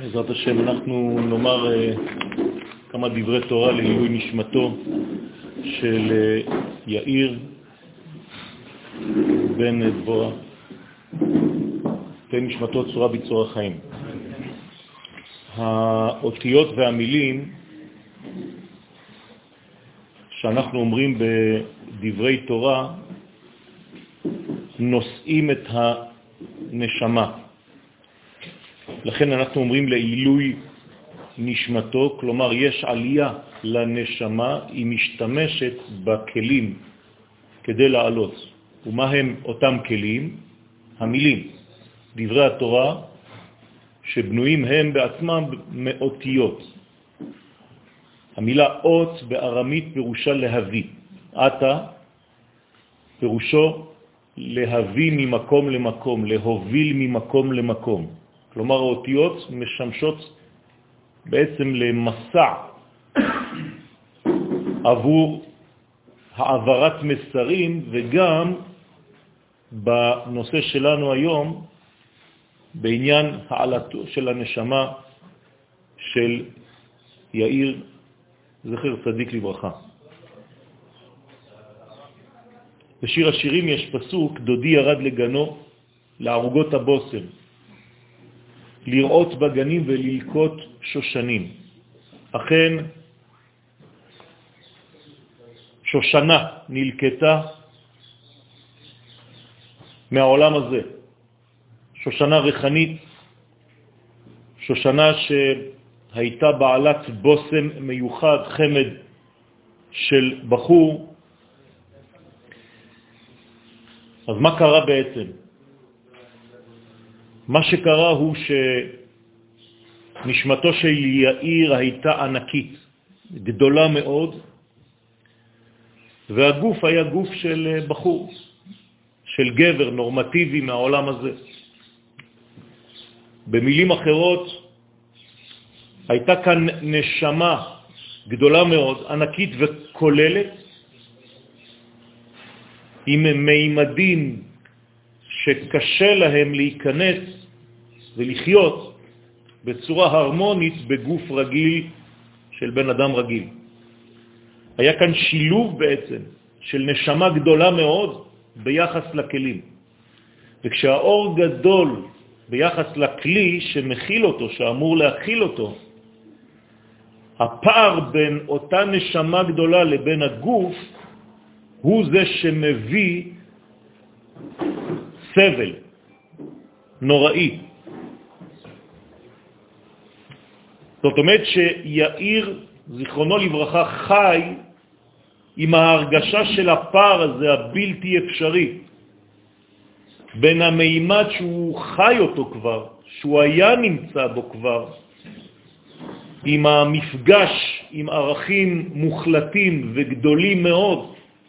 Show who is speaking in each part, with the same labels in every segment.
Speaker 1: בעזרת השם אנחנו נאמר כמה דברי תורה לעילוי נשמתו של יאיר בן דבורה, נשמתו צורה בצור החיים. האותיות והמילים שאנחנו אומרים בדברי תורה נושאים את הנשמה. לכן אנחנו אומרים לעילוי נשמתו, כלומר יש עלייה לנשמה, היא משתמשת בכלים כדי לעלות. ומה הם אותם כלים? המילים, דברי התורה, שבנויים הם בעצמם מאותיות. המילה אות בארמית פירושה להביא. אתה פירושו להביא ממקום למקום, להוביל ממקום למקום. כלומר האותיות משמשות בעצם למסע עבור העברת מסרים, וגם בנושא שלנו היום בעניין העלתו של הנשמה של יאיר זכר צדיק לברכה. בשיר השירים יש פסוק, דודי ירד לגנו לערוגות הבוסם, לראות בגנים וללקוט שושנים. אכן שושנה נלקטה מהעולם הזה, שושנה ריחנית, שושנה שהייתה בעלת בוסם מיוחד, חמד של בחור. אז מה קרה בעצם? מה שקרה הוא שנשמתו של יאיר הייתה ענקית, גדולה מאוד, והגוף היה גוף של בחור, של גבר נורמטיבי מהעולם הזה. במילים אחרות, הייתה כאן נשמה גדולה מאוד, ענקית וכוללת, עם מימדים שקשה להם להיכנס ולחיות בצורה הרמונית בגוף רגיל של בן אדם רגיל. היה כאן שילוב בעצם של נשמה גדולה מאוד ביחס לכלים. וכשהאור גדול ביחס לכלי שמכיל אותו, שאמור להכיל אותו, הפער בין אותה נשמה גדולה לבין הגוף הוא זה שמביא סבל נוראי. זאת אומרת שיאיר זיכרונו לברכה חי עם ההרגשה של הפער הזה הבלתי אפשרי בין המימד שהוא חי אותו כבר, שהוא היה נמצא בו כבר, עם המפגש עם ערכים מוחלטים וגדולים מאוד,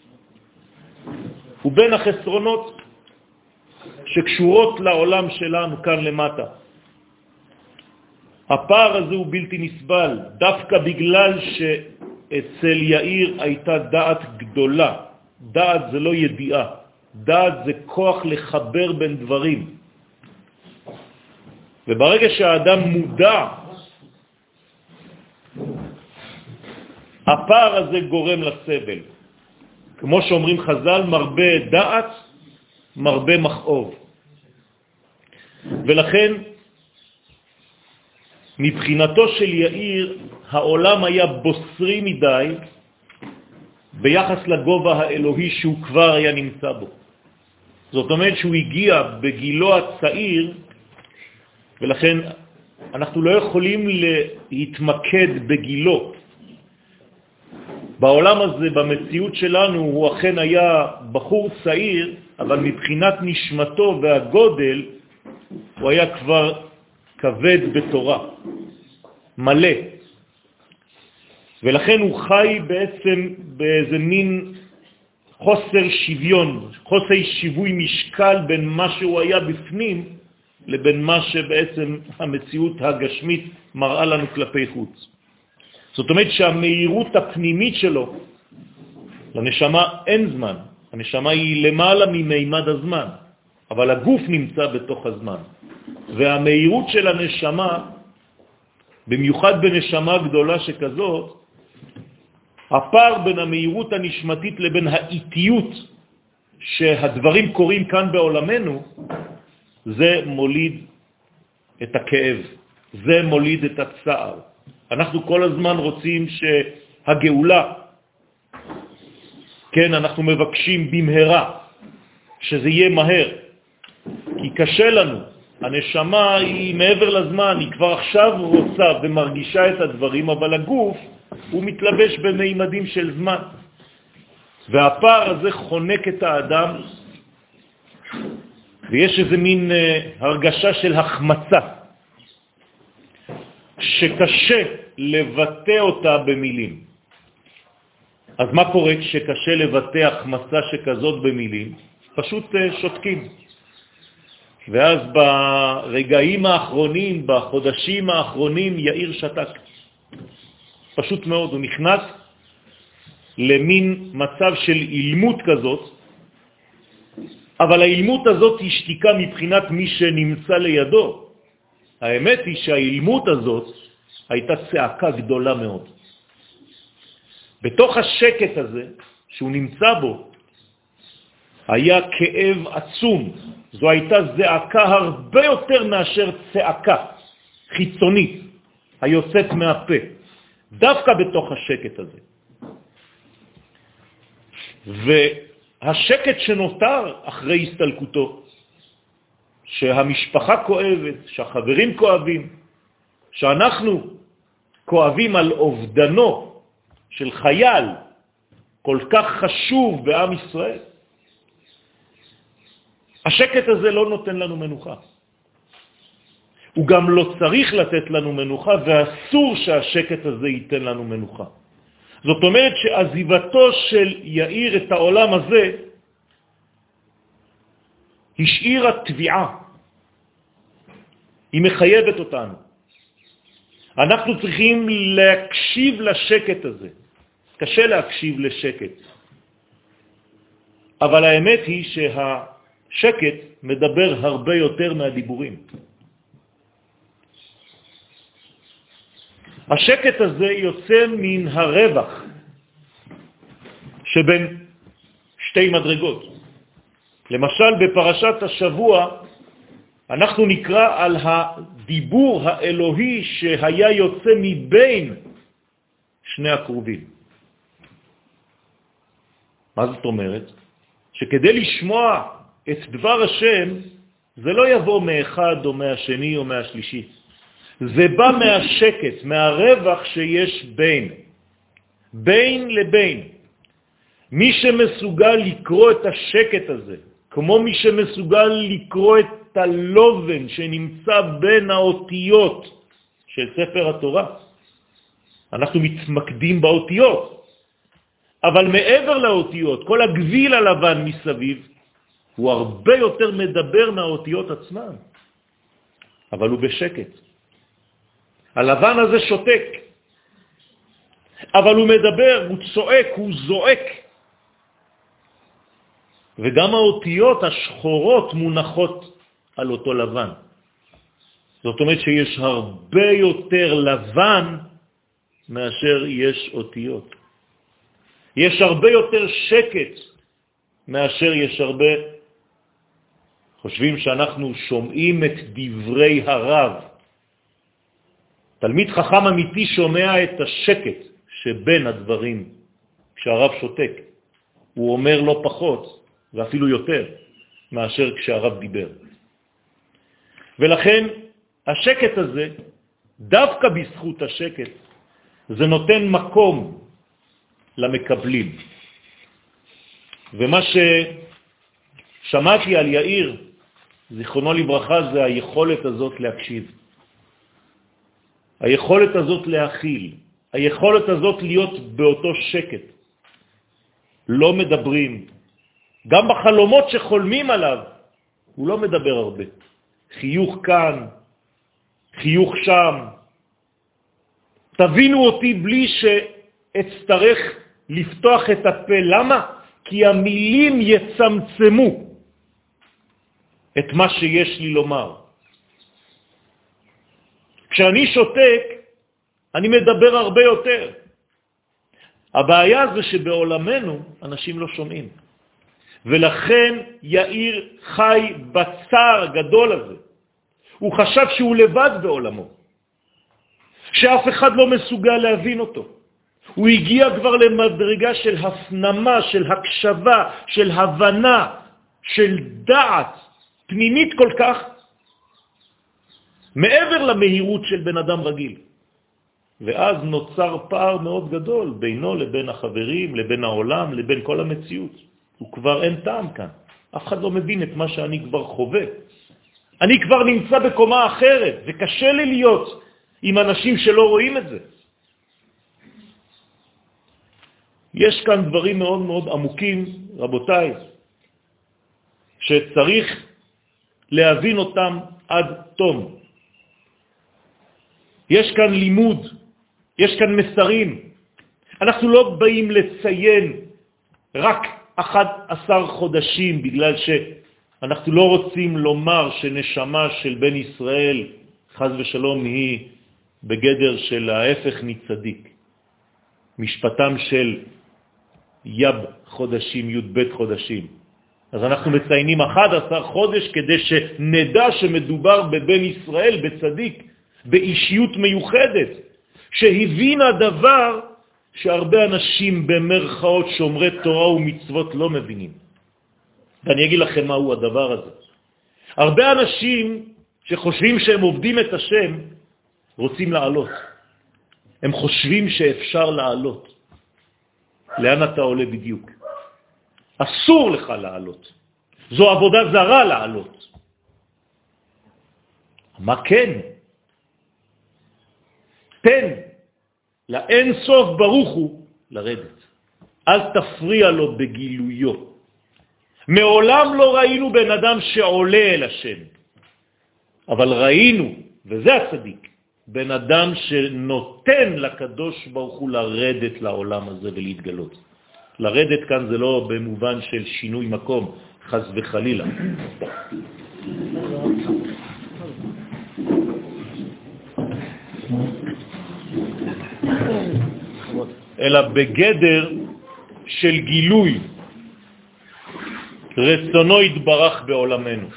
Speaker 1: ובין החסרונות שקשורות לעולם שלנו כאן למטה. הפער הזה הוא בלתי נסבל, דווקא בגלל שאצל יאיר הייתה דעת גדולה. דעת זה לא ידיעה, דעת זה כוח לחבר בין דברים. וברגע שהאדם מודע, הפער הזה גורם לסבל. כמו שאומרים חז"ל, מרבה דעת, מרבה מכאוב. ולכן, מבחינתו של יאיר, העולם היה בוסרי מדי ביחס לגובה האלוהי שהוא כבר היה נמצא בו. זאת אומרת שהוא הגיע בגילו הצעיר, ולכן אנחנו לא יכולים להתמקד בגילו. בעולם הזה, במציאות שלנו, הוא אכן היה בחור צעיר, אבל מבחינת נשמתו והגודל, הוא היה כבר כבד בתורה, מלא. ולכן הוא חי בעצם באיזה מין חוסר שוויון, חוסר שיווי משקל בין מה שהוא היה בפנים לבין מה שבעצם המציאות הגשמית מראה לנו כלפי חוץ. זאת אומרת שהמהירות הפנימית שלו, לנשמה אין זמן, הנשמה היא למעלה ממימד הזמן, אבל הגוף נמצא בתוך הזמן. והמהירות של הנשמה במיוחד בנשמה גדולה שכזאת, הפער בין המהירות הנשמתית לבין האיטיות שהדברים קורים כאן בעולמנו, זה מוליד את הכאב, זה מוליד את הצער. אנחנו כל הזמן רוצים שהגאולה, כן, אנחנו מבקשים במהרה, שזה יהיה מהר, כי קשה לנו. הנשמה היא מעבר לזמן, היא כבר עכשיו רוצה ומרגישה את הדברים, אבל הגוף הוא מתלבש במימדים של זמן. והפער הזה חונק את האדם, ויש איזה מין הרגשה של החמצה, שקשה לבטא אותה במילים. אז מה קורה כשקשה לבטא החמצה שכזאת במילים? פשוט שותקים. ואז ברגעים האחרונים, בחודשים האחרונים, יאיר שתק. פשוט מאוד, הוא נכנס למין מצב של אילמות כזאת, אבל האילמות הזאת היא שתיקה מבחינת מי שנמצא לידו. האמת היא שהאילמות הזאת הייתה צעקה גדולה מאוד. בתוך השקט הזה שהוא נמצא בו, היה כאב עצום. זו הייתה זעקה הרבה יותר מאשר צעקה חיצונית היוצאת מהפה, דווקא בתוך השקט הזה. והשקט שנותר אחרי הסתלקותו, שהמשפחה כואבת, שהחברים כואבים, שאנחנו כואבים על אובדנו של חייל כל כך חשוב בעם ישראל, השקט הזה לא נותן לנו מנוחה. הוא גם לא צריך לתת לנו מנוחה, ואסור שהשקט הזה ייתן לנו מנוחה. זאת אומרת שעזיבתו של יאיר את העולם הזה השאירה תביעה. היא מחייבת אותנו. אנחנו צריכים להקשיב לשקט הזה. קשה להקשיב לשקט. אבל האמת היא שהשקט מדבר הרבה יותר מהדיבורים. השקט הזה יוצא מן הרווח שבין שתי מדרגות. למשל בפרשת השבוע אנחנו נקרא על הדיבור האלוהי שהיה יוצא מבין שני הקרובים. מה זאת אומרת? שכדי לשמוע את דבר השם זה לא יבוא מאחד או מהשני או מהשלישי. זה בא מהשקט, מהרווח שיש בין לבין. מי שמסוגל לקרוא את השקט הזה, כמו מי שמסוגל לקרוא את הלובן שנמצא בין האותיות של ספר התורה. אנחנו מתמקדים באותיות, אבל מעבר לאותיות, כל הגביל הלבן מסביב, הוא הרבה יותר מדבר מהאותיות עצמן, אבל הוא בשקט. הלבן הזה שותק, אבל הוא מדבר, הוא צועק, הוא זועק. וגם האותיות השחורות מונחות על אותו לבן. זאת אומרת שיש הרבה יותר לבן מאשר יש אותיות. יש הרבה יותר שקט מאשר יש הרבה. חושבים שאנחנו שומעים את דברי הרב. תלמיד חכם אמיתי שומע את השקט שבין הדברים כשהרב שותק. הוא אומר לא פחות ואפילו יותר מאשר כשהרב דיבר. ולכן השקט הזה, דווקא בזכות השקט, זה נותן מקום למקבלים. ומה ששמעתי על יאיר, זיכרונו לברכה, זה היכולת הזאת להקשיב. היכולת הזאת להכיל, היכולת הזאת להיות באותו שקט. לא מדברים. גם בחלומות שחולמים עליו, הוא לא מדבר הרבה. חיוך כאן, חיוך שם. תבינו אותי בלי שאצטרך לפתוח את הפה. למה? כי המילים יצמצמו את מה שיש לי לומר. כשאני שותק, אני מדבר הרבה יותר. הבעיה זה שבעולמנו אנשים לא שומעים. ולכן יאיר חי בצער הגדול הזה. הוא חשב שהוא לבד בעולמו, שאף אחד לא מסוגל להבין אותו. הוא הגיע כבר למדרגה של הפנמה, של הקשבה, של הבנה, של דעת פנימית כל כך, מעבר למהירות של בן אדם רגיל. ואז נוצר פער מאוד גדול בינו לבין החברים, לבין העולם, לבין כל המציאות. הוא כבר אין טעם כאן. אף אחד לא מבין את מה שאני כבר חווה. אני כבר נמצא בקומה אחרת, וקשה לי להיות עם אנשים שלא רואים את זה. יש כאן דברים מאוד מאוד עמוקים, רבותיי, שצריך להבין אותם עד תום. יש כאן לימוד, יש כאן מסרים. אנחנו לא באים לציין רק 11 חודשים, בגלל שאנחנו לא רוצים לומר שנשמה של בן ישראל, חז ושלום, היא בגדר של ההפך מצדיק. משפטם של יב חודשים, י' ב' חודשים. אז אנחנו מציינים 11 חודש כדי שנדע שמדובר בבן ישראל, בצדיק, באישיות מיוחדת, שהבין הדבר שהרבה אנשים במרכאות שומרי תורה ומצוות לא מבינים. ואני אגיד לכם מהו הדבר הזה. הרבה אנשים שחושבים שהם עובדים את השם, רוצים לעלות. הם חושבים שאפשר לעלות. לאן אתה עולה בדיוק? אסור לך לעלות. זו עבודה זרה לעלות. מה כן? תן לאין סוף ברוך הוא לרדת. אל תפריע לו בגילויו. מעולם לא ראינו בן אדם שעולה אל השם. אבל ראינו, וזה הצדיק, בן אדם שנותן לקדוש ברוך הוא לרדת לעולם הזה ולהתגלות. לרדת כאן זה לא במובן של שינוי מקום, חס וחלילה. אלא בגדר של גילוי רצונו יתברך בעולמנו.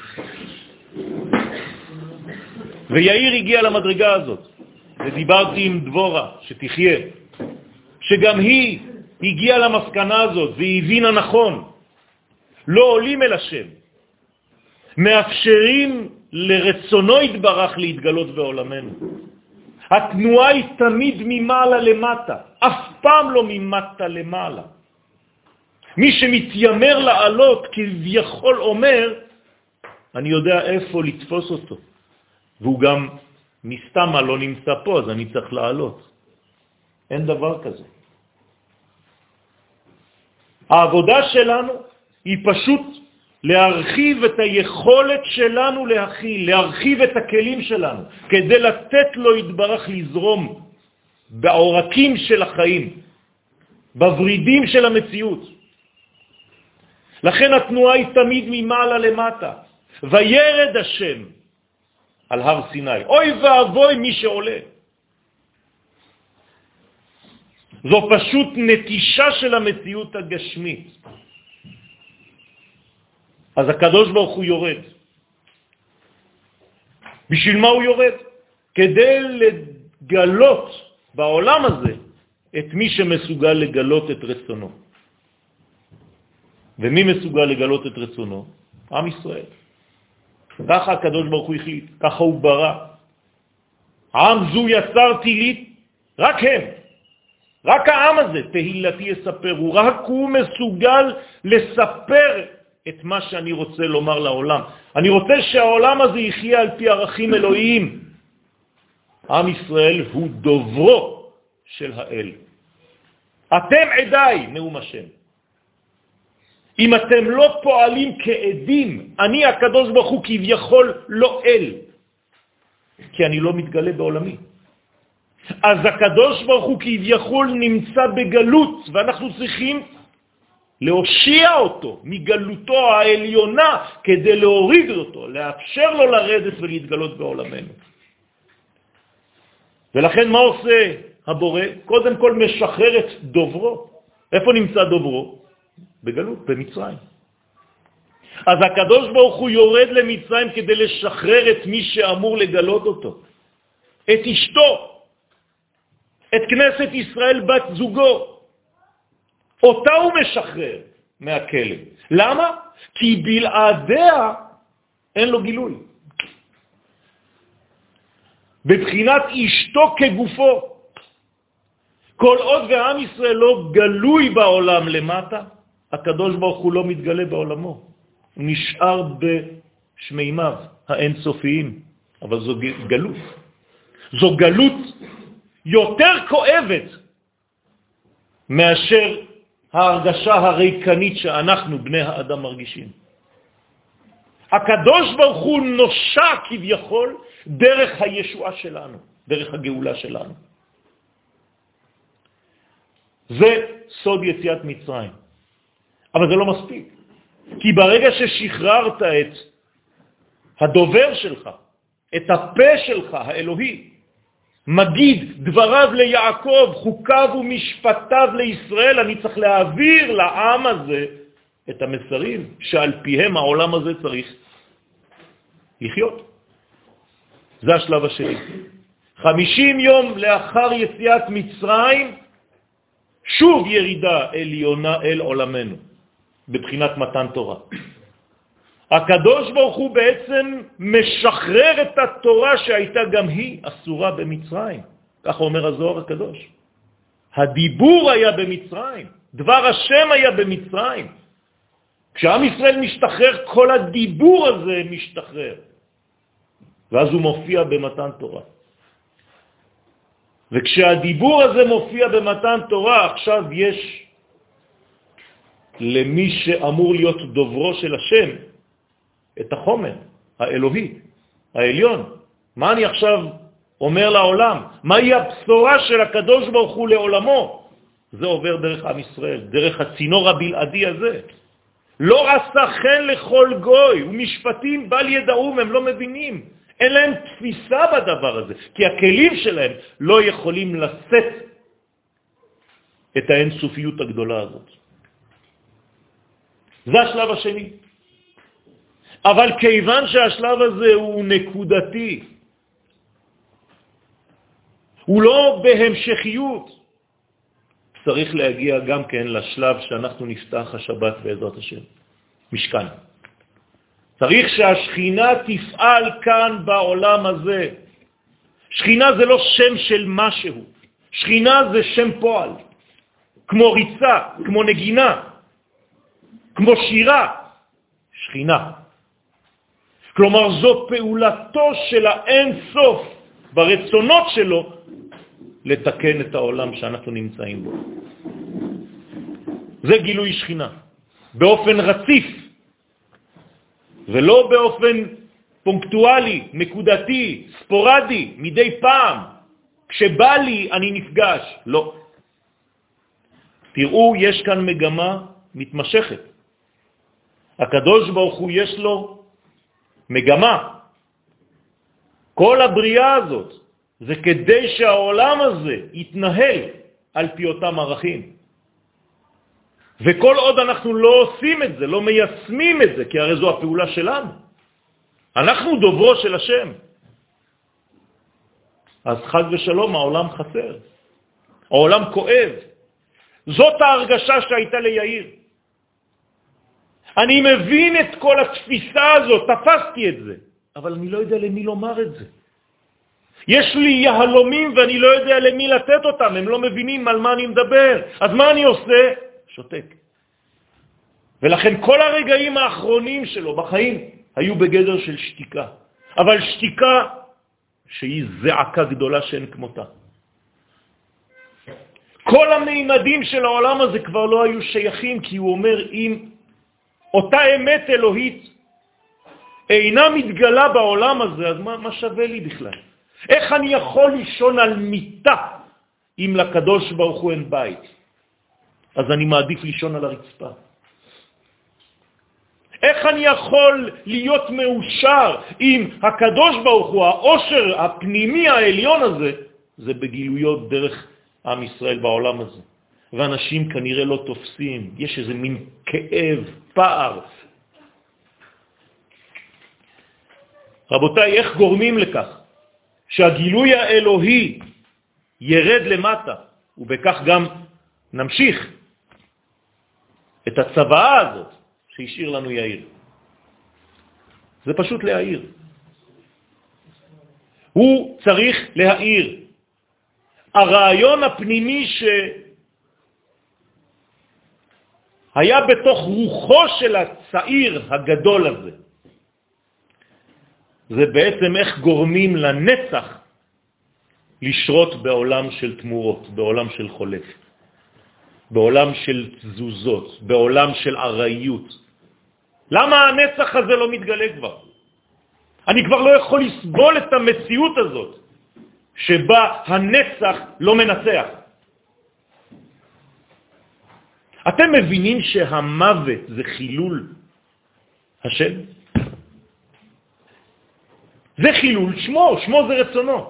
Speaker 1: ויאיר הגיע למדרגה הזאת, ודיברתי עם דבורה שתחיה, שגם היא הגיעה למסקנה הזאת והיא הבינה נכון. לא עולים אל השם, מאפשרים לרצונו יתברך להתגלות בעולמנו. התנועה היא תמיד ממעלה למטה, אף פעם לא ממטה למעלה. מי שמתיימר לעלות כביכול אומר, אני יודע איפה לתפוס אותו, והוא גם מסתמה לא נמצא פה, אז אני צריך לעלות. אין דבר כזה. העבודה שלנו היא פשוט להרחיב את היכולת שלנו להכיל, להרחיב את הכלים שלנו, כדי לתת לו יתברך לזרום בעורקים של החיים, בברידים של המציאות. לכן התנועה היא תמיד ממעלה למטה. וירד השם על הר סיני. אוי ואבוי מי שעולה. זו פשוט נטישה של המציאות הגשמית. אז הקדוש ברוך הוא יורד. בשביל מה הוא יורד? כדי לגלות בעולם הזה את מי שמסוגל לגלות את רצונו. ומי מסוגל לגלות את רצונו? עם ישראל. ככה הקדוש ברוך הוא החליט, ככה הוא ברא. עם זו יצרתי לי, רק הם. רק העם הזה, תהילתי יספרו, רק הוא מסוגל לספר את מה שאני רוצה לומר לעולם. אני רוצה שהעולם הזה יחיה על פי ערכים אלוהיים. עם ישראל הוא דוברו של האל. אתם עדיי, נאום השם. אם אתם לא פועלים כעדים, אני הקדוש ברוך הוא כביכול לא אל, כי אני לא מתגלה בעולמי. אז הקדוש ברוך הוא כביכול נמצא בגלות, ואנחנו צריכים להושיע אותו מגלותו העליונה כדי להוריד אותו, לאפשר לו לרדת ולהתגלות בעולמנו. ולכן מה עושה הבורא, קודם כל משחרר את דוברו. איפה נמצא דוברו? בגלות, במצרים. אז הקדוש ברוך הוא יורד למצרים כדי לשחרר את מי שאמור לגלות אותו. את אשתו, את כנסת ישראל בת זוגו. אותה הוא משחרר מהכלא. למה? כי בלעדיה אין לו גילוי. בבחינת אשתו כגופו. כל עוד ועם ישראל לא גלוי בעולם למטה, הקדוש ברוך הוא לא מתגלה בעולמו. הוא נשאר בשמימיו האינסופיים, אבל זו גלות. זו גלות יותר כואבת מאשר ההרגשה הריקנית שאנחנו בני האדם מרגישים. הקדוש ברוך הוא נושע כביכול דרך הישועה שלנו, דרך הגאולה שלנו. זה סוד יציאת מצרים. אבל זה לא מספיק. כי ברגע ששחררת את הדובר שלך, את הפה שלך, האלוהי, מגיד דבריו ליעקב, חוקיו ומשפטיו לישראל, אני צריך להעביר לעם הזה את המסרים שעל פיהם העולם הזה צריך לחיות. זה השלב השני. 50 יום לאחר יציאת מצרים, שוב ירידה עליונה אל עולמנו, בבחינת מתן תורה. הקדוש ברוך הוא בעצם משחרר את התורה שהייתה גם היא אסורה במצרים. ככה אומר הזוהר הקדוש. הדיבור היה במצרים, דבר השם היה במצרים. כשעם ישראל משתחרר, כל הדיבור הזה משתחרר. ואז הוא מופיע במתן תורה. וכשהדיבור הזה מופיע במתן תורה, עכשיו יש למי שאמור להיות דוברו של השם את החומר האלוהי, העליון. מה אני עכשיו אומר לעולם? מהי הבשורה של הקדוש ברוך הוא לעולמו? זה עובר דרך עם ישראל, דרך הצינור הבלעדי הזה. לא עשה חן לכל גוי, ומשפטים בל ידעום, הם לא מבינים. אין להם תפיסה בדבר הזה, כי הכלים שלהם לא יכולים לשאת את האינסופיות הגדולה הזאת. זה השלב השני. אבל כיוון שהשלב הזה הוא נקודתי, הוא לא בהמשכיות, צריך להגיע גם כן לשלב שאנחנו נפתח השבת בעזרת השם, משכן. צריך שהשכינה תפעל כאן בעולם הזה. שכינה זה לא שם של משהו, שכינה זה שם פועל, כמו ריצה, כמו נגינה, כמו שירה, שכינה. כלומר זו פעולתו של האין סוף ברצונות שלו לתקן את העולם שאנחנו נמצאים בו. זה גילוי שכינה, באופן רציף, ולא באופן פונקטואלי, נקודתי, ספורדי, מדי פעם. כשבא לי אני נפגש. לא. תראו, יש כאן מגמה מתמשכת. הקדוש ברוך הוא יש לו מגמה. כל הבריאה הזאת זה כדי שהעולם הזה יתנהל על פי אותם ערכים. וכל עוד אנחנו לא עושים את זה, לא מיישמים את זה, כי הרי זו הפעולה שלנו. אנחנו דוברו של השם. אז חד ושלום, העולם חסר. העולם כואב. זאת ההרגשה שהייתה ליאיר. אני מבין את כל התפיסה הזאת, תפסתי את זה, אבל אני לא יודע למי לומר את זה. יש לי יהלומים ואני לא יודע למי לתת אותם, הם לא מבינים על מה אני מדבר. אז מה אני עושה? שותק. ולכן כל הרגעים האחרונים שלו בחיים היו בגדר של שתיקה. אבל שתיקה שהיא זעקה גדולה שאין כמותה. כל המימדים של העולם הזה כבר לא היו שייכים, כי הוא אומר, אם אותה אמת אלוהית אינה מתגלה בעולם הזה, אז מה שווה לי בכלל? איך אני יכול לישון על מיטה אם לקדוש ברוך הוא אין בית? אז אני מעדיף לישון על הרצפה. איך אני יכול להיות מאושר אם הקדוש ברוך הוא, העושר הפנימי העליון הזה, זה בגילויות דרך עם ישראל בעולם הזה. ואנשים כנראה לא תופסים, יש איזה מין כאב, פער. רבותיי, איך גורמים לכך שהגילוי האלוהי ירד למטה, ובכך גם נמשיך את הצבאה הזאת שהשאיר לנו יאיר? זה פשוט להעיר. הוא צריך להעיר. הרעיון הפנימי שהיה בתוך רוחו של הצעיר הגדול הזה, זה בעצם איך גורמים לנצח לשרות בעולם של תמורות, בעולם של חולף, בעולם של תזוזות, בעולם של עריות. למה הנצח הזה לא מתגלה כבר? אני כבר לא יכול לסבול את המציאות הזאת שבה הנצח לא מנצח. אתם מבינים שהמוות זה חילול השם? זה חילול שמו, שמו זה רצונו.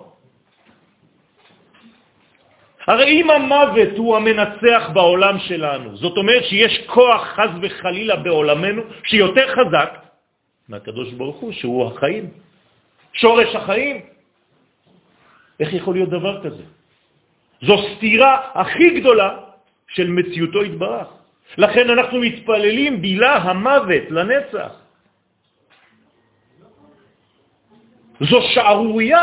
Speaker 1: הרי אם המוות הוא המנצח בעולם שלנו, זאת אומרת שיש כוח חז וחלילה בעולמנו שיותר חזק מהקדוש ברוך הוא, שהוא החיים, שורש החיים. איך יכול להיות דבר כזה? זו סתירה הכי גדולה של מציאותו יתברך. לכן אנחנו מתפללים בילה המוות לנצח. זו שערוריה.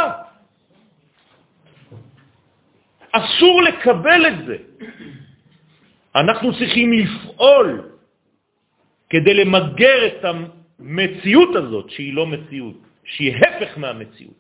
Speaker 1: אסור לקבל את זה. אנחנו צריכים לפעול כדי למגר את המציאות הזאת, שהיא לא מציאות, שהיא הפך מהמציאות.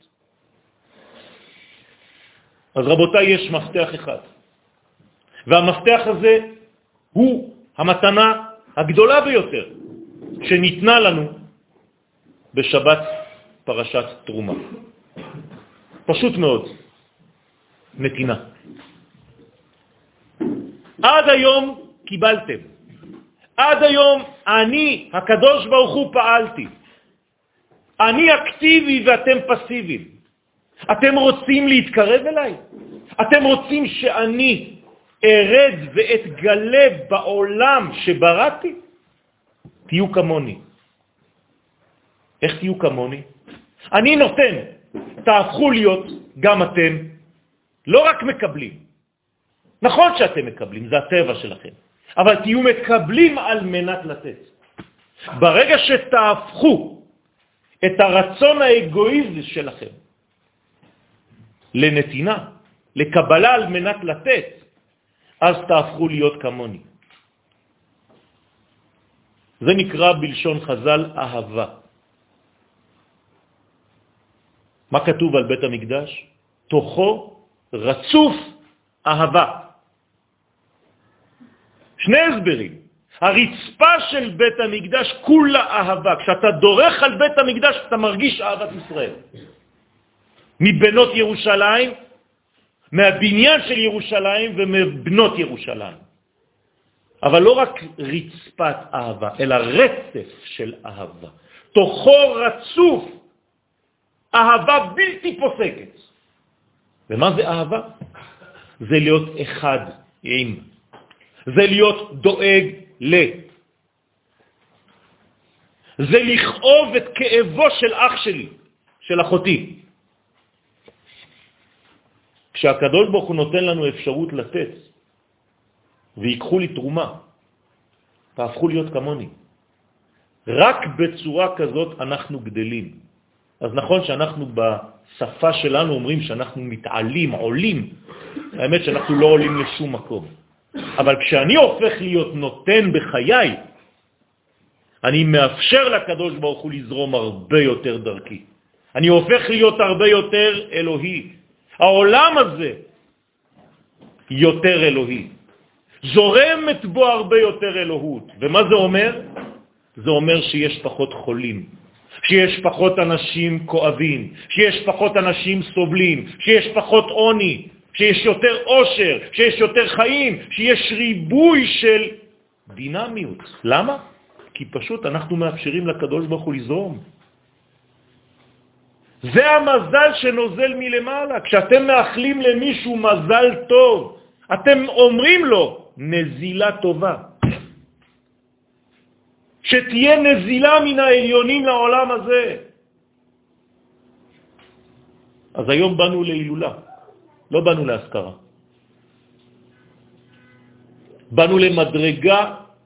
Speaker 1: אז רבותיי, יש מפתח אחד. והמפתח הזה הוא המתנה הגדולה ביותר שניתנה לנו בשבת פרשת תרומה. פשוט מאוד. נתינה. עד היום קיבלתם. עד היום אני, הקדוש ברוך הוא, פעלתי. אני אקטיבי ואתם פסיביים. אתם רוצים להתקרב אליי? אתם רוצים שאני ארד ואתגלה בעולם שבראתי? תהיו כמוני. איך תהיו כמוני? אני נותן, תהפכו להיות גם אתם, לא רק מקבלים. נכון שאתם מקבלים, זה הטבע שלכם, אבל תהיו מקבלים על מנת לתת. ברגע שתהפכו את הרצון האגואיסטי שלכם לנתינה, לקבלה על מנת לתת, אז תהפכו להיות כמוני. זה נקרא בלשון חז"ל אהבה. מה כתוב על בית המקדש? תוכו רצוף אהבה. שני הסברים. הרצפה של בית המקדש כולה אהבה. כשאתה דורך על בית המקדש אתה מרגיש אהבת ישראל. מבנות ירושלים, מהבניין של ירושלים ומבנות ירושלים. אבל לא רק רצפת אהבה, אלא רצף של אהבה. תוכו רצוף אהבה בלתי פוסקת. ומה זה אהבה? זה להיות אחד עם. זה להיות דואג ל. זה לכאוב את כאבו של אח שלי, של אחותי. כשהקדוש ברוך הוא נותן לנו אפשרות לתת, ויקחו לי תרומה, תהפכו להיות כמוני. רק בצורה כזאת אנחנו גדלים. אז נכון שאנחנו בשפה שלנו אומרים שאנחנו מתעלים, עולים. האמת שאנחנו לא עולים לשום מקום. אבל כשאני הופך להיות נותן בחיי, אני מאפשר לקדוש ברוך הוא לזרום הרבה יותר דרכי. אני הופך להיות הרבה יותר אלוהי. העולם הזה יותר אלוהי. זורמת בו הרבה יותר אלוהות. ומה זה אומר? זה אומר שיש פחות חולים, שיש פחות אנשים כואבים, שיש פחות אנשים סובלים, שיש פחות עוני, שיש יותר עושר, שיש יותר חיים, שיש ריבוי של דינמיות. למה? כי פשוט אנחנו מאפשרים לקדוש ברוך הוא לזרום. זה המזל שנוזל מלמעלה. כשאתם מאחלים למישהו מזל טוב, אתם אומרים לו נזילה טובה. שתהיה נזילה מן העליונים לעולם הזה. אז היום באנו להילולה, לא באנו להזכרה. באנו למדרגה,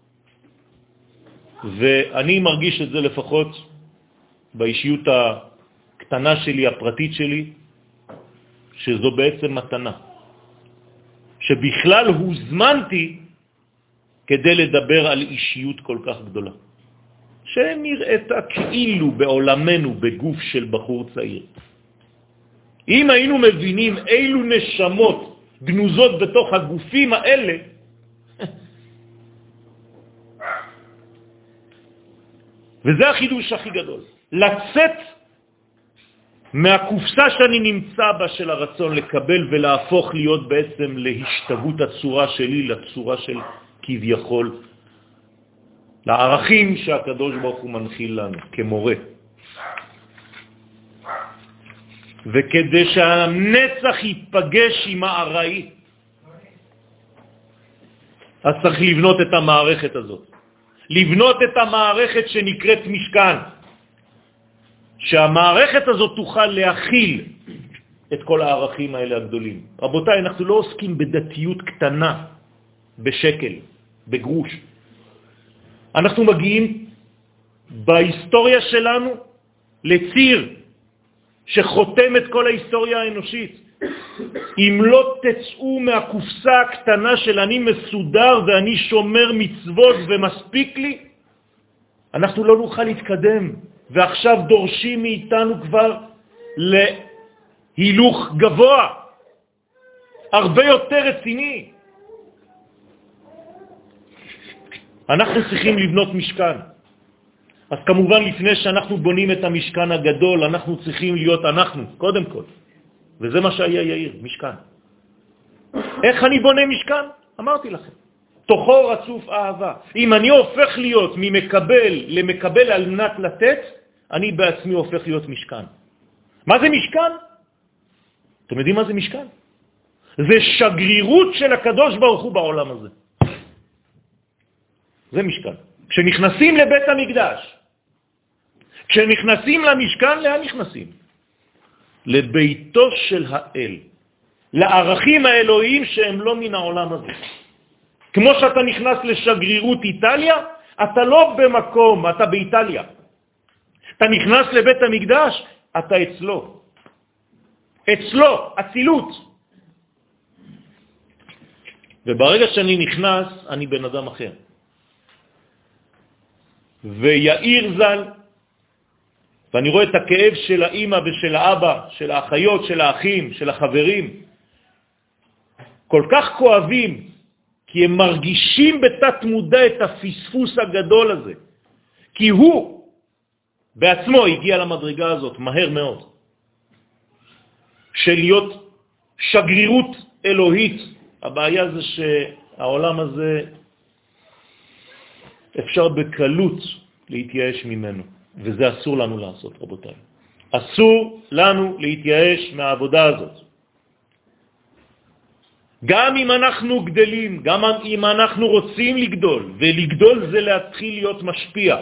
Speaker 1: ואני מרגיש את זה לפחות באישיות הקטנה שלי, הפרטית שלי, שזו בעצם מתנה. שבכלל הוזמנתי כדי לדבר על אישיות כל כך גדולה. שנראית כאילו בעולמנו בגוף של בחור צעיר. אם היינו מבינים אילו נשמות גנוזות בתוך הגופים האלה, וזה החידוש הכי גדול. לצאת מהקופסה שאני נמצא בה של הרצון לקבל ולהפוך להיות בעצם להשתגות הצורה שלי, לצורה של כביכול, לערכים שהקדוש ברוך הוא מנחיל לנו כמורה. וכדי שהנצח ייפגש עם הארעי, אז צריך לבנות את המערכת הזאת. לבנות את המערכת שנקראת משכן. שהמערכת הזאת תוכל להכיל את כל הערכים האלה הגדולים. רבותיי, אנחנו לא עוסקים בדתיות קטנה, בשקל, בגרוש. אנחנו מגיעים בהיסטוריה שלנו לציר שחותם את כל ההיסטוריה האנושית. אם לא תצאו מהקופסה הקטנה של אני מסודר ואני שומר מצוות ומספיק לי, אנחנו לא נוכל להתקדם. ועכשיו דורשים מאיתנו כבר להילוך גבוה, הרבה יותר רציני. אנחנו צריכים לבנות משכן. אז כמובן לפני שאנחנו בונים את המשכן הגדול, אנחנו צריכים להיות אנחנו, קודם כל. וזה מה שהיה יאיר, משכן. איך אני בונה משכן? אמרתי לכם. תוכו רצוף אהבה. אם אני הופך להיות ממקבל למקבל על מנת לתת, אני בעצמי הופך להיות משכן. מה זה משכן? אתם יודעים מה זה משכן? זה שגרירות של הקדוש ברוך הוא בעולם הזה. זה משכן. כשנכנסים לבית המקדש, כשנכנסים למשכן, לאן נכנסים? לביתו של האל, לערכים האלוהיים שהם לא מן העולם הזה. כמו שאתה נכנס לשגרירות איטליה, אתה לא במקום, אתה באיטליה. אתה נכנס לבית המקדש, אתה אצלו. אצלו, אצילות. וברגע שאני נכנס, אני בן אדם אחר. ויאיר ז"ל, ואני רואה את הכאב של האמא ושל האבא, של האחיות, של האחים, של החברים, כל כך כואבים, כי הם מרגישים בתת מודע את הפספוס הגדול הזה. כי הוא בעצמו הגיע למדרגה הזאת מהר מאוד, של להיות שגרירות אלוהית. הבעיה זה שהעולם הזה אפשר בקלות להתייאש ממנו, וזה אסור לנו לעשות, רבותיי. אסור לנו להתייאש מהעבודה הזאת. גם אם אנחנו גדלים, גם אם אנחנו רוצים לגדול, ולגדול זה להתחיל להיות משפיע.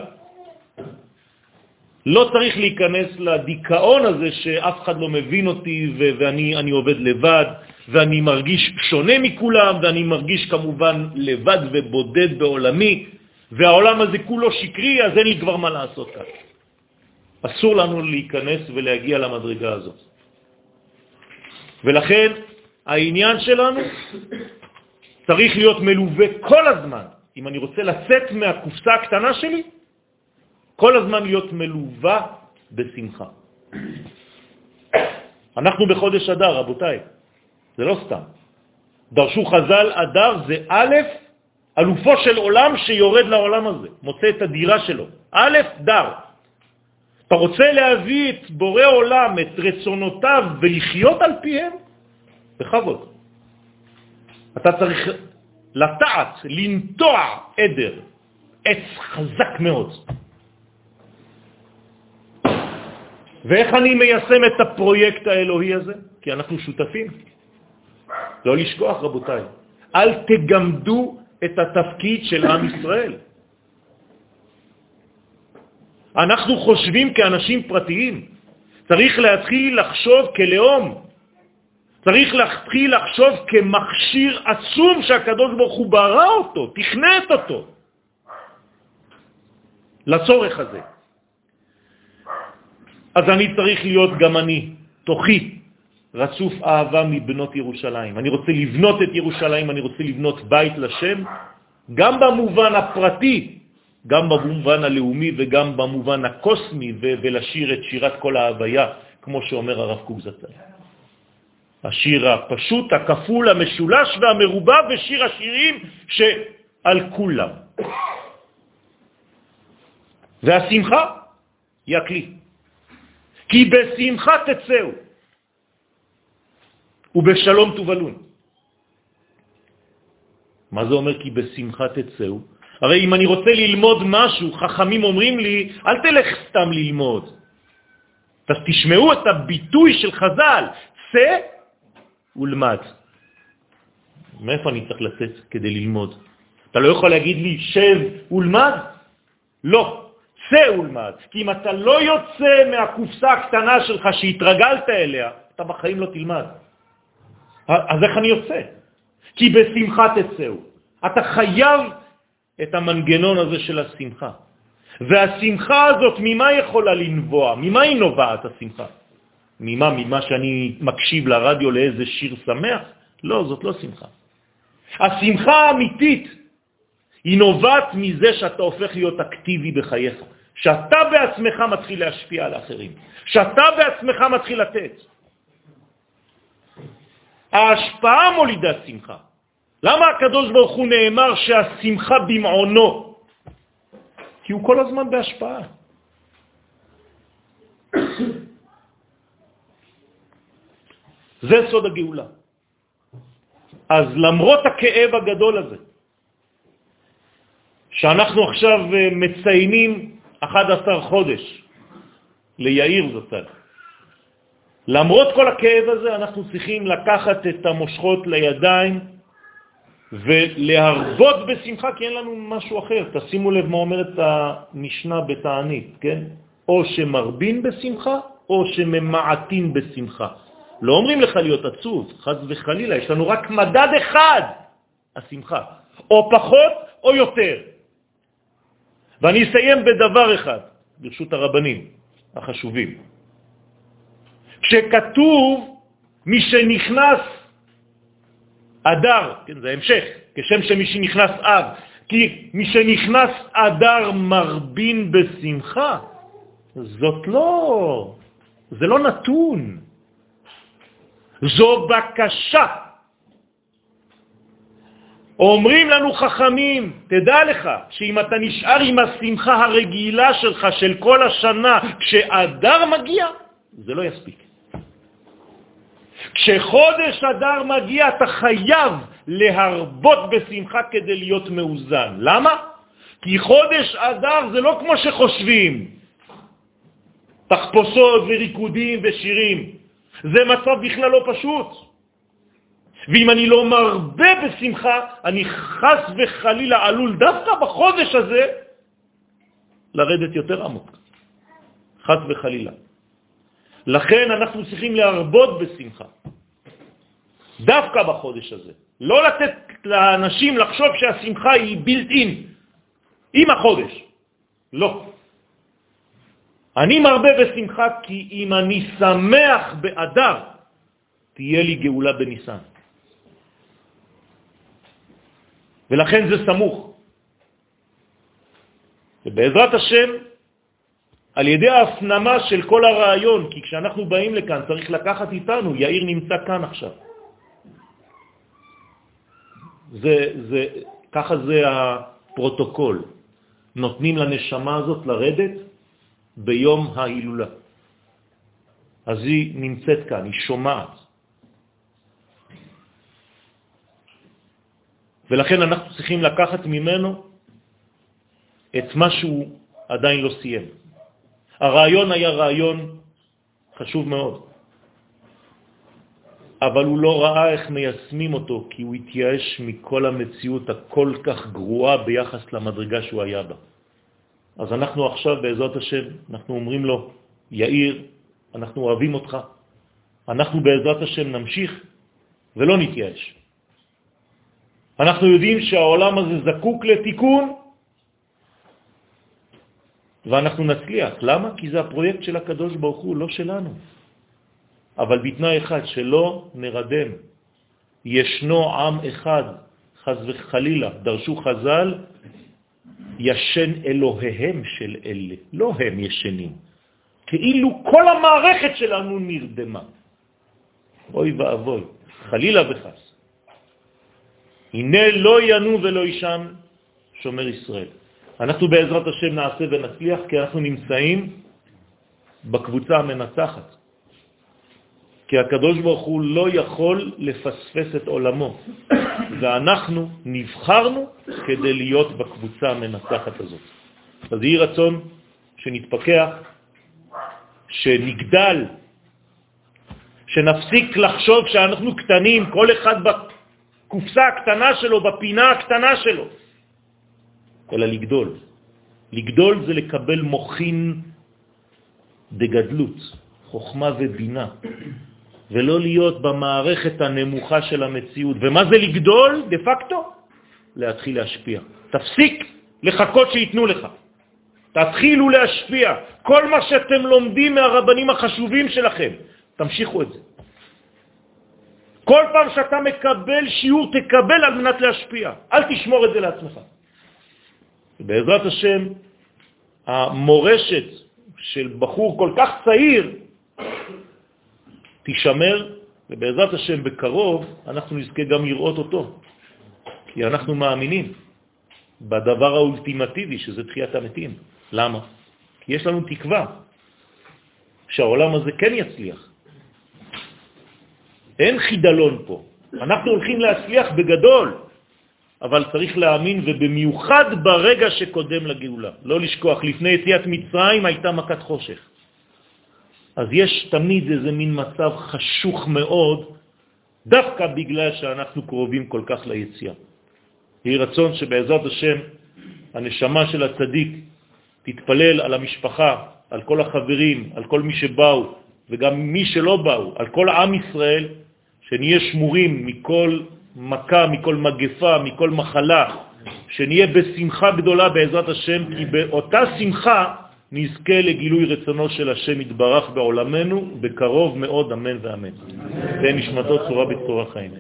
Speaker 1: לא צריך להיכנס לדיכאון הזה שאף אחד לא מבין אותי ואני עובד לבד, ואני מרגיש שונה מכולם, ואני מרגיש כמובן לבד ובודד בעולמי, והעולם הזה כולו שקרי, אז אין לי כבר מה לעשות כאן. אסור לנו להיכנס ולהגיע למדרגה הזאת. ולכן העניין שלנו צריך להיות מלווה כל הזמן. אם אני רוצה לצאת מהקופסה הקטנה שלי, כל הזמן להיות מלווה בשמחה. אנחנו בחודש אדר, רבותיי. זה לא סתם. דרשו חז"ל, אדר זה א', אלופו של עולם שיורד לעולם הזה, מוצא את הדירה שלו. א', דר. אתה רוצה להביא את בורא עולם, את רצונותיו, ולחיות על פיהם? בכבוד. אתה צריך לטעת, לנטוע עדר, עץ חזק מאוד. ואיך אני מיישם את הפרויקט האלוהי הזה? כי אנחנו שותפים. לא לשכוח, רבותיי. אל תגמדו את התפקיד של עם ישראל. אנחנו חושבים כאנשים פרטיים, צריך להתחיל לחשוב כלאום, צריך להתחיל לחשוב כמכשיר עצום שהקדוש ברוך הוא ברא אותו, תכנת אותו לצורך הזה. אז אני צריך להיות גם אני, תוכי, רצוף אהבה מבנות ירושלים. אני רוצה לבנות את ירושלים, אני רוצה לבנות בית לשם, גם במובן הפרטי, גם במובן הלאומי וגם במובן הקוסמי, ולשיר את שירת כל ההוויה, כמו שאומר הרב קוק זצ"ל. השיר הפשוט, הכפול, המשולש והמרובע, ושיר השירים שעל כולם. והשמחה היא הכלי. כי בשמחה תצאו, ובשלום תובלון. מה זה אומר כי בשמחה תצאו? הרי אם אני רוצה ללמוד משהו, חכמים אומרים לי, אל תלך סתם ללמוד. אז תשמעו את הביטוי של חז"ל, צא ולמד. מאיפה אני צריך לצאת כדי ללמוד? אתה לא יכול להגיד לי, שב ולמד? לא, צא ולמד. כי אם אתה לא יוצא מהקופסה הקטנה שלך שהתרגלת אליה, אתה בחיים לא תלמד. אז איך אני יוצא? כי בשמחה תצאו. אתה חייב את המנגנון הזה של השמחה. והשמחה הזאת, ממה יכולה לנבוע? ממה היא נובעת השמחה? ממה שאני מקשיב לרדיו לאיזה שיר שמח? לא, זאת לא שמחה. השמחה האמיתית היא נובעת מזה שאתה הופך להיות אקטיבי בחייך. שאתה בעצמך מתחיל להשפיע על האחרים. שאתה בעצמך מתחיל לתת. ההשפעה מולידה שמחה. למה הקדוש ברוך הוא נאמר שהשמחה במעונו? כי הוא כל הזמן בהשפעה. זה סוד הגאולה. אז למרות הכאב הגדול הזה, שאנחנו עכשיו מציינים 11 חודש ליאיר זצ"ל, למרות כל הכאב הזה אנחנו צריכים לקחת את המושכות לידיים ולהרבות בשמחה, כי אין לנו משהו אחר. תשימו לב מה אומרת המשנה בתענית, כן? או שמרבין בשמחה או שממעטין בשמחה. לא אומרים לך להיות עצוב, חס וחלילה, יש לנו רק מדד אחד, השמחה, או פחות או יותר. ואני אסיים בדבר אחד, ברשות הרבנים החשובים. כשכתוב מי שנכנס אדר, כן, זה המשך, כשם שמי שנכנס אב, כי מי שנכנס אדר מרבין בשמחה, זה לא נתון, זו בקשה. אומרים לנו חכמים, תדע לך שאם אתה נשאר עם השמחה הרגילה שלך של כל השנה, כשאדר מגיע, זה לא יספיק. כשחודש אדר מגיע, אתה חייב להרבות בשמחה כדי להיות מאוזן. למה? כי חודש אדר זה לא כמו שחושבים. תחפושות וריקודים ושירים. זה מצב בכלל לא פשוט. ואם אני לא מרבה בשמחה, אני חס וחלילה עלול דווקא בחודש הזה לרדת יותר עמוק. חס וחלילה. לכן אנחנו צריכים להרבות בשמחה. דווקא בחודש הזה. לא לתת לאנשים לחשוב שהשמחה היא built in. עם החודש. לא. אני מרבה בשמחה כי אם אני שמח באדר, תהיה לי גאולה בניסן. ולכן זה סמוך. ובעזרת השם, על ידי ההפנמה של כל הרעיון, כי כשאנחנו באים לכאן צריך לקחת איתנו, יאיר נמצא כאן עכשיו. ככה זה הפרוטוקול. נותנים לנשמה הזאת לרדת ביום ההילולה. אז היא נמצאת כאן, היא שומעת. ולכן אנחנו צריכים לקחת ממנו את מה שהוא עדיין לא סיים. הרעיון היה רעיון חשוב מאוד. אבל הוא לא ראה איך מיישמים אותו, כי הוא התייאש מכל המציאות הכל כך גרועה ביחס למדרגה שהוא היה בה. אז אנחנו עכשיו בעזרת השם, אנחנו אומרים לו, יאיר, אנחנו אוהבים אותך, אנחנו בעזרת השם נמשיך ולא נתייאש. אנחנו יודעים שהעולם הזה זקוק לתיקון, ואנחנו נצליח. למה? כי זה הפרויקט של הקדוש ברוך הוא, לא שלנו. אבל בתנאי אחד, שלא נרדם. ישנו עם אחד, חז וחלילה, דרשו חז"ל, ישן אלוהיהם של אלה. לא הם ישנים. כאילו כל המערכת שלנו נרדמה. אוי ואבוי, חלילה וחס. הנה לא ינו ולא ישן שומר ישראל. אנחנו בעזרת השם נעשה ונצליח, כי אנחנו נמצאים בקבוצה המנצחת. כי הקדוש ברוך הוא לא יכול לפספס את עולמו, ואנחנו נבחרנו כדי להיות בקבוצה המנצחת הזאת. אז יהי רצון שנתפקח, שנגדל, שנפסיק לחשוב שאנחנו קטנים, כל אחד בקופסה הקטנה שלו, בפינה הקטנה שלו, אלא לגדול. לגדול זה לקבל מוחין דגדלות, חוכמה ובינה, ולא להיות במערכת הנמוכה של המציאות. ומה זה לגדול? דה פקטו, להתחיל להשפיע. תפסיק לחכות שיתנו לך. תתחילו להשפיע. כל מה שאתם לומדים מהרבנים החשובים שלכם, תמשיכו את זה. כל פעם שאתה מקבל שיעור, תקבל על מנת להשפיע. אל תשמור את זה לעצמך. בעזרת השם, המורשת של בחור כל כך צעיר תשמר, ובעזרת השם בקרוב אנחנו נזכה גם לראות אותו. כי אנחנו מאמינים בדבר האולטימטיבי, שזה תחיית המתים. למה? כי יש לנו תקווה שהעולם הזה כן יצליח. אין חידלון פה. אנחנו הולכים להצליח בגדול, אבל צריך להאמין, ובמיוחד ברגע שקודם לגאולה. לא לשכוח, לפני יציאת מצרים הייתה מכת חושך. אז יש תמיד איזה מין מצב חשוך מאוד, דווקא בגלל שאנחנו קרובים כל כך ליציאה. יהי רצון שבעזרת השם, הנשמה של הצדיק תתפלל על המשפחה, על כל החברים, על כל מי שבאו, וגם מי שלא באו, על כל עם ישראל, שנהיה שמורים מכל מכה, מכל מגפה, מכל מחלה, שנהיה בשמחה גדולה בעזרת השם, כי באותה שמחה נזכה לגילוי רצונו של השם יתברך בעולמנו, בקרוב מאוד, אמן ואמן. תהיה נשמתו צורה בצורה חיים.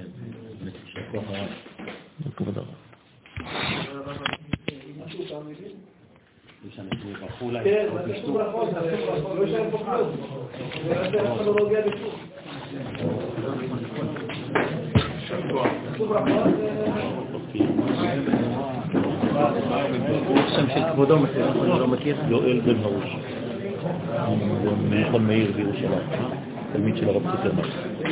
Speaker 2: שם של כבודו אני לא מכיר.
Speaker 1: יואל בן הרוש, ממכון מאיר בירושלים, תלמיד של הרב צוקרמן.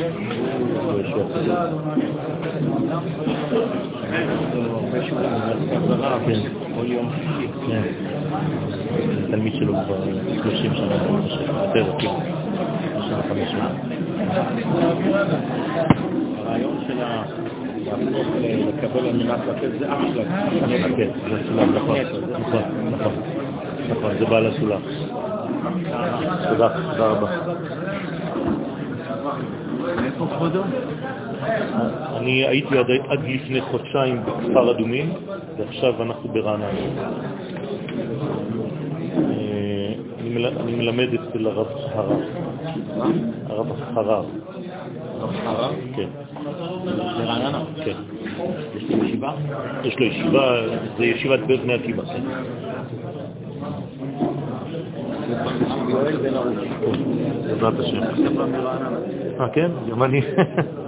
Speaker 2: כל יום שישי.
Speaker 1: תלמיד שלו כבר 30 שנה, יותר, 25 שנה.
Speaker 2: הרעיון של להפוך לקבל על מנת לתת זה אח שלך.
Speaker 1: כן, זה סולם, נכון, נכון, זה בעל הסולם. תודה רבה.
Speaker 2: איפה כבודו?
Speaker 1: אני הייתי עד לפני חודשיים בכפר אדומים, ועכשיו אנחנו ברעננה. אני מלמד אצל הרב חרב. הרב חרב.
Speaker 2: הרב חרב?
Speaker 1: כן.
Speaker 2: ברעננה?
Speaker 1: כן.
Speaker 2: יש לו ישיבה?
Speaker 1: יש לו ישיבה, זה ישיבת בני עקיבא.
Speaker 2: יואל בן הרוש.
Speaker 1: בעזרת השם. כן? גם אני.